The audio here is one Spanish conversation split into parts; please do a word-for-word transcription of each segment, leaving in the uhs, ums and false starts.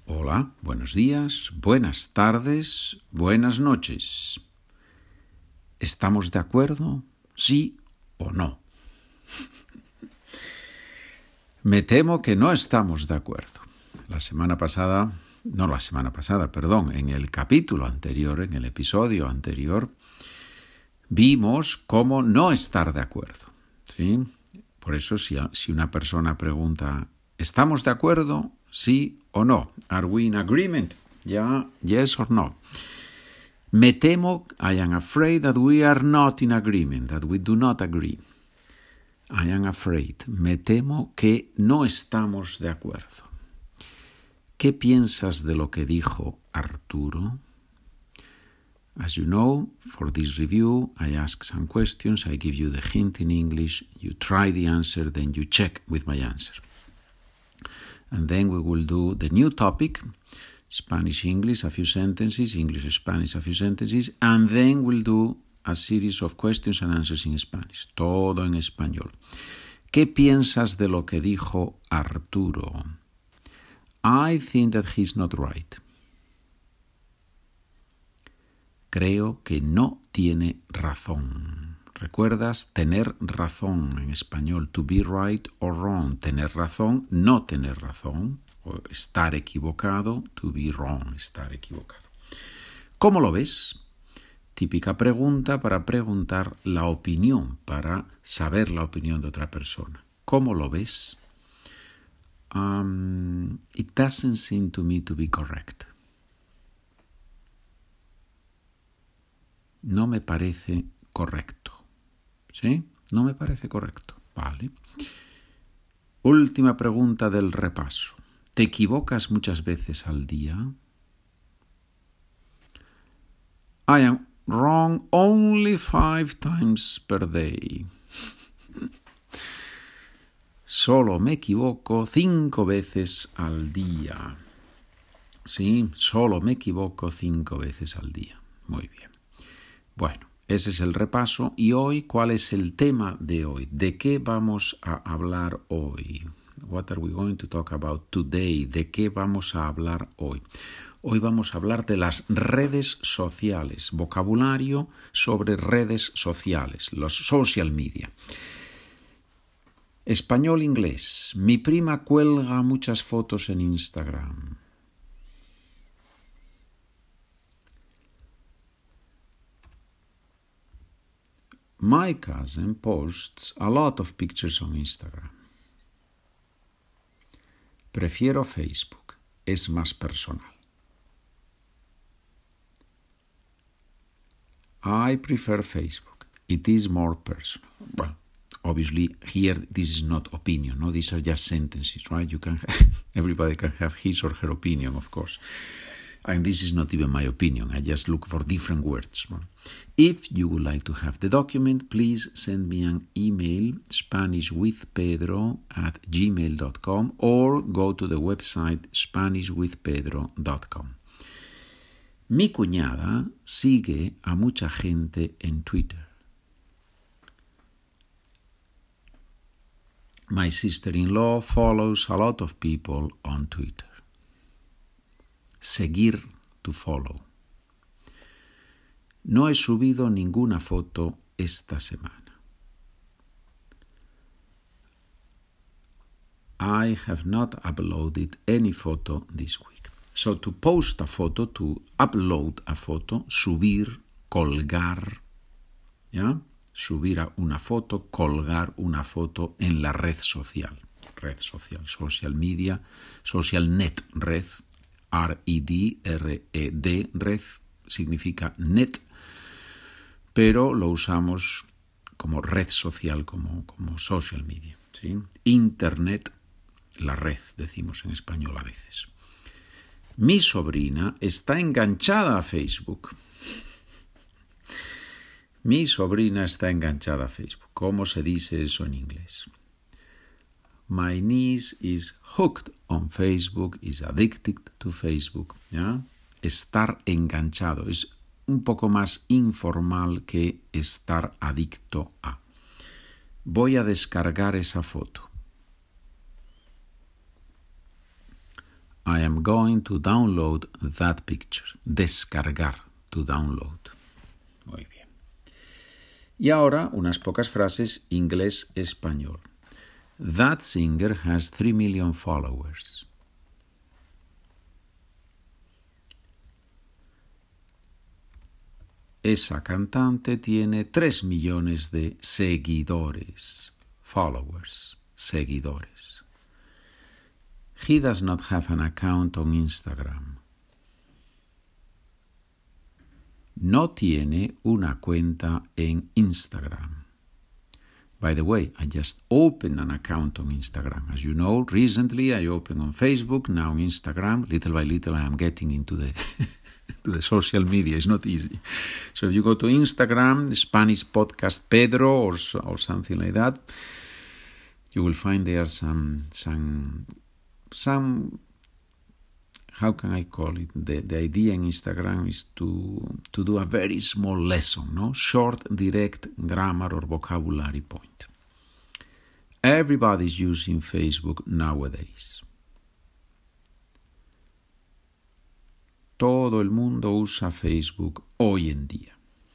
Hola, buenos días, buenas tardes, buenas noches. ¿Estamos de acuerdo? ¿Sí o no? Me temo que no estamos de acuerdo. La semana pasada, no la semana pasada, perdón, en el capítulo anterior, en el episodio anterior, vimos cómo no estar de acuerdo, ¿sí? Por eso, si, si una persona pregunta, ¿estamos de acuerdo? ¿Sí o no? ¿Are we in agreement? ¿Ya? ¿Yes or no? Me temo, I am afraid that we are not in agreement, that we do not agree. I am afraid. Me temo que no estamos de acuerdo. ¿Qué piensas de lo que dijo Arturo? As you know, for this review, I ask some questions, I give you the hint in English, you try the answer, then you check with my answer. And then we will do the new topic, Spanish-English, a few sentences, English-Spanish, a few sentences, and then we'll do a series of questions and answers in Spanish, todo en español. ¿Qué piensas de lo que dijo Arturo? I think that he's not right. Creo que no tiene razón. ¿Recuerdas? Tener razón en español, to be right or wrong. Tener razón, no tener razón. O estar equivocado, to be wrong, estar equivocado. ¿Cómo lo ves? Típica pregunta para preguntar la opinión, para saber la opinión de otra persona. ¿Cómo lo ves? Um, it doesn't seem to me to be correct. No me parece correcto. ¿Sí? No me parece correcto. Vale. Última pregunta del repaso. ¿Te equivocas muchas veces al día? I am wrong only five times per day. Solo me equivoco cinco veces al día. Sí, solo me equivoco cinco veces al día. Muy bien. Bueno, ese es el repaso. Y hoy, ¿cuál es el tema de hoy? ¿De qué vamos a hablar hoy? What are we going to talk about today? ¿De qué vamos a hablar hoy? Hoy vamos a hablar de las redes sociales, vocabulario sobre redes sociales, los social media. Español-inglés. Mi prima cuelga muchas fotos en Instagram. My cousin posts a lot of pictures on Instagram. Prefiero Facebook, es más personal. I prefer Facebook, it is more personal. Well, obviously here this is not opinion, no? These are just sentences, right? You can have, everybody can have his or her opinion, of course. And this is not even my opinion. I just look for different words. If you would like to have the document, please send me an email, spanishwithpedro at gmail dot com, or go to the website spanish with pedro dot com. Mi cuñada sigue a mucha gente en Twitter. My sister-in-law follows a lot of people on Twitter. Seguir, to follow. No he subido ninguna foto esta semana. I have not uploaded any photo this week. So to post a photo, to upload a photo, subir, colgar, ¿ya? Subir a una foto, colgar una foto en la red social. Red social, social media, social net, red. R E D, R E D, red, significa net, pero lo usamos como red social, como, como social media, ¿sí? Internet, la red, decimos en español a veces. Mi sobrina está enganchada a Facebook. Mi sobrina está enganchada a Facebook. ¿Cómo se dice eso en inglés? My niece is hooked on Facebook, is addicted to Facebook. ¿Ya? Estar enganchado es un poco más informal que estar adicto a. Voy a descargar esa foto. I am going to download that picture. Descargar, to download. Muy bien. Y ahora unas pocas frases inglés-español. That singer has three million followers. Esa cantante tiene tres millones de seguidores. Followers, seguidores. He does not have an account on Instagram. No tiene una cuenta en Instagram. By the way, I just opened an account on Instagram. As you know, recently I opened on Facebook, now Instagram. Little by little I am getting into the, to the social media. It's not easy. So if you go to Instagram, Spanish Podcast Pedro or, or something like that, you will find there some, some, some how can I call it? The, the idea in Instagram is to, to do a very small lesson, no? Short, direct grammar or vocabulary point. Everybody's using Facebook nowadays. Todo el mundo usa Facebook hoy en día.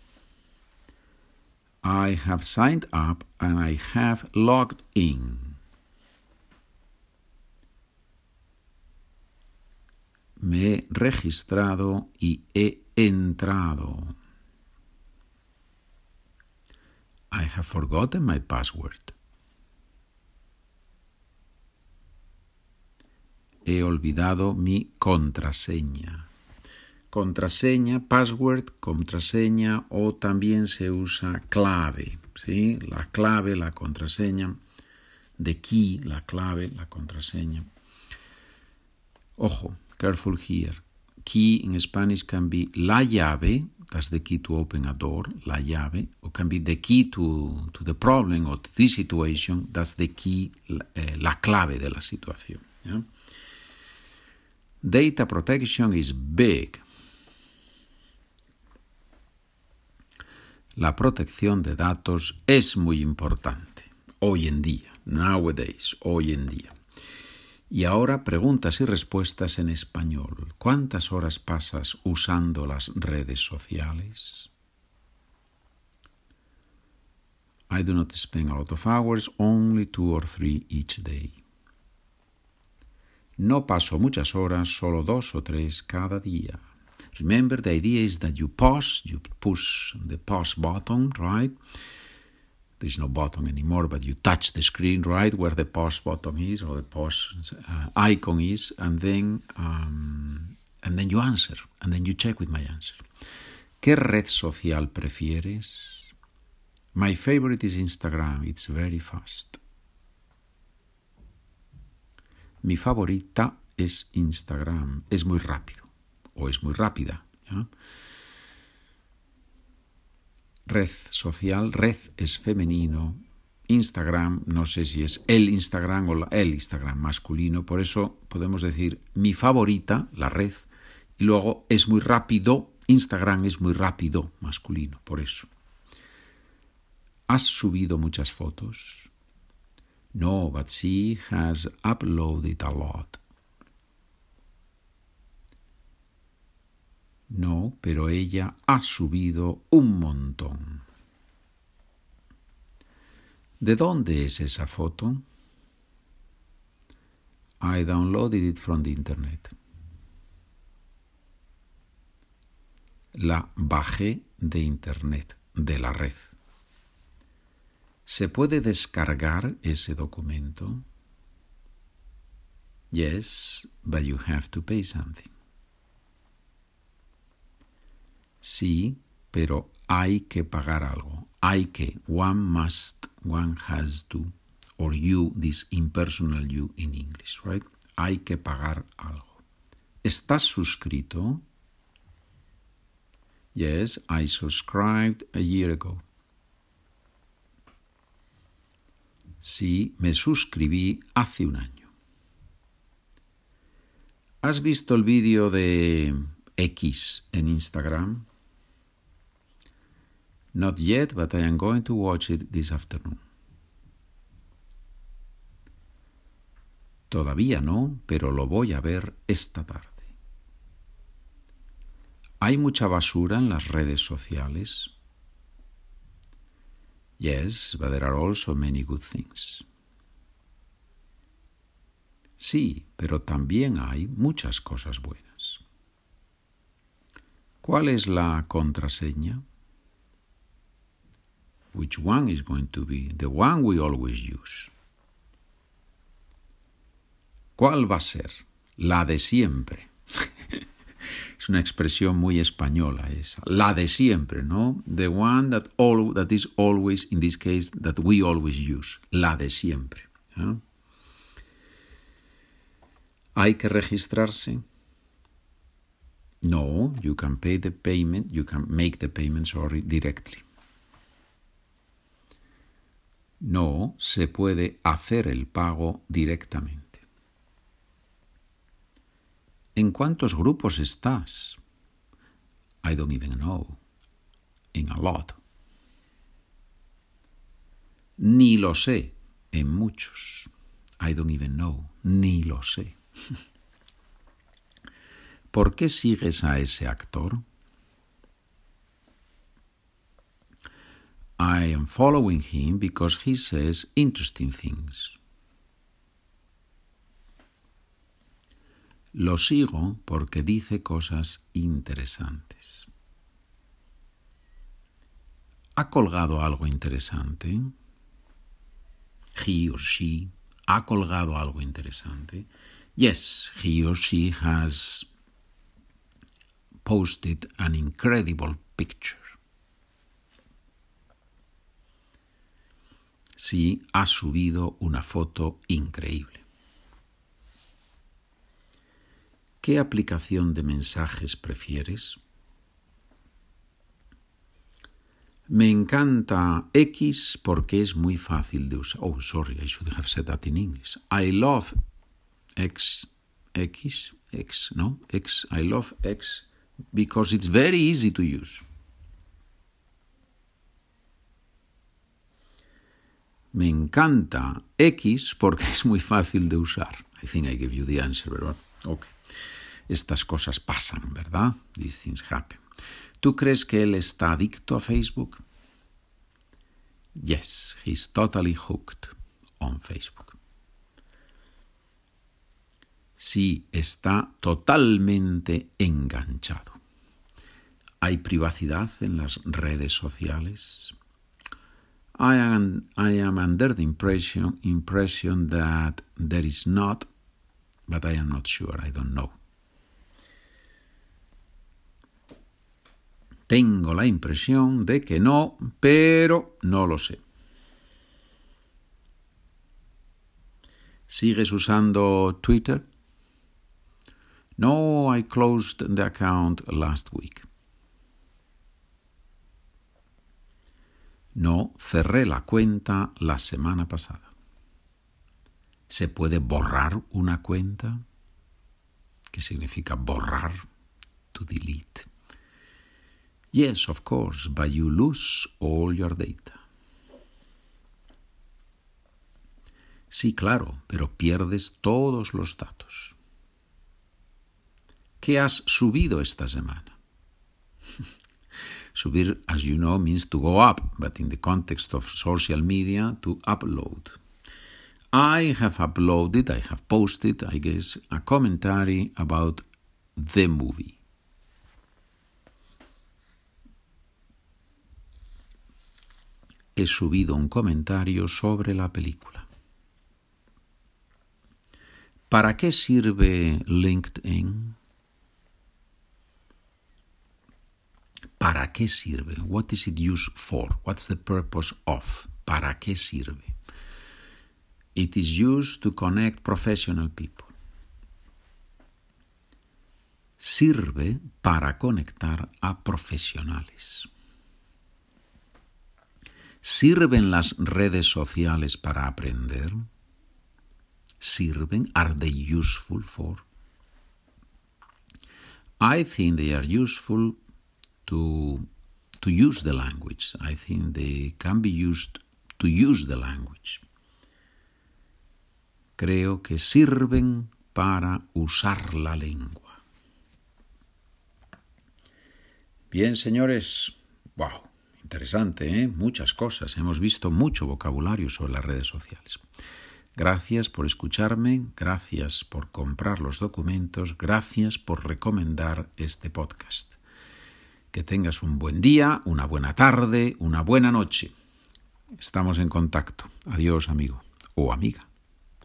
I have signed up and I have logged in. Me he registrado y he entrado. I have forgotten my password. He olvidado mi contraseña. Contraseña, password, contraseña o también se usa clave, ¿sí? La clave, la contraseña, the key, la clave, la contraseña. Ojo, careful here. Key in Spanish can be la llave, that's the key to open a door, la llave, or can be the key to, to the problem or to the situation, that's the key, eh, la clave de la situación. ¿Ya? Data protection is big. La protección de datos es muy importante, hoy en día, nowadays, hoy en día. Y ahora preguntas y respuestas en español. ¿Cuántas horas pasas usando las redes sociales? I do not spend a lot of hours, only two or three each day. No paso muchas horas, solo dos o tres cada día. Remember, the idea is that you pause, you push the pause button, right? There's no button anymore, but you touch the screen, right, where the pause button is or the pause uh, icon is, and then um, and then you answer, and then you check with my answer. ¿Qué red social prefieres? My favorite is Instagram. It's very fast. Mi favorita es Instagram. Es muy rápido o es muy rápida. ¿Ya? Red social, red es femenino, Instagram, no sé si es el Instagram o el Instagram masculino, por eso podemos decir mi favorita, la red, y luego es muy rápido, Instagram es muy rápido, masculino, por eso. ¿Has subido muchas fotos? No, but she has uploaded a lot. No, pero ella ha subido un montón. ¿De dónde es esa foto? I downloaded it from the internet. La bajé de internet, de la red. ¿Se puede descargar ese documento? Yes, but you have to pay something. Sí, pero hay que pagar algo. Hay que, one must, one has to, or you, this impersonal you in English, right? Hay que pagar algo. ¿Estás suscrito? Yes, I subscribed a year ago. Sí, me suscribí hace un año. ¿Has visto el vídeo de X en Instagram? Not yet, but I am going to watch it this afternoon. Todavía no, pero lo voy a ver esta tarde. ¿Hay mucha basura en las redes sociales? Yes, but there are also many good things. Sí, pero también hay muchas cosas buenas. ¿Cuál es la contraseña? Which one is going to be the one we always use? ¿Cuál va a ser? La de siempre. Es una expresión muy española esa. La de siempre, ¿no? The one that, all, that is always, in this case, that we always use. La de siempre. ¿Eh? ¿Hay que registrarse? No, you can pay the payment, you can make the payment, sorry, directly. No, se puede hacer el pago directamente. ¿En cuántos grupos estás? I don't even know. In a lot. Ni lo sé. En muchos. I don't even know. Ni lo sé. ¿Por qué sigues a ese actor? I am following him because he says interesting things. Lo sigo porque dice cosas interesantes. ¿Ha colgado algo interesante? He or she ha colgado algo interesante. Yes, he or she has posted an incredible picture. Sí, ha subido una foto increíble. ¿Qué aplicación de mensajes prefieres? Me encanta X porque es muy fácil de usar. Oh, sorry, I should have said that in English. I love X, X, X, no? X, I love X because it's very easy to use. Me encanta X porque es muy fácil de usar. I think I gave you the answer, ¿verdad? Okay. Estas cosas pasan, ¿verdad? These things happen. ¿Tú crees que él está adicto a Facebook? Yes, he's totally hooked on Facebook. Sí, está totalmente enganchado. ¿Hay privacidad en las redes sociales? I am, I am under the impression, impression that there is not, but I am not sure, I don't know. Tengo la impresión de que no, pero no lo sé. ¿Sigues usando Twitter? No, I closed the account last week. No, cerré la cuenta la semana pasada. ¿Se puede borrar una cuenta? ¿Qué significa borrar? To delete. Yes, of course, but you lose all your data. Sí, claro, pero pierdes todos los datos. ¿Qué has subido esta semana? Subir, as you know, means to go up, but in the context of social media, to upload. I have uploaded, I have posted, I guess, a commentary about the movie. He subido un comentario sobre la película. ¿Para qué sirve LinkedIn? ¿Para qué sirve? What is it used for? What's the purpose of? ¿Para qué sirve? It is used to connect professional people. Sirve para conectar a profesionales. ¿Sirven las redes sociales para aprender? ¿Sirven? Are they useful for? I think they are useful to, to use the language. I think they can be used to use the language. creo que sirven para usar la lengua. Bien, señores, wow, interesante, ¿eh? Muchas cosas, hemos visto mucho vocabulario sobre las redes sociales. Gracias por escucharme, gracias por comprar los documentos, gracias por recomendar este podcast. Que tengas un buen día, una buena tarde, una buena noche. Estamos en contacto. Adiós, amigo o amiga.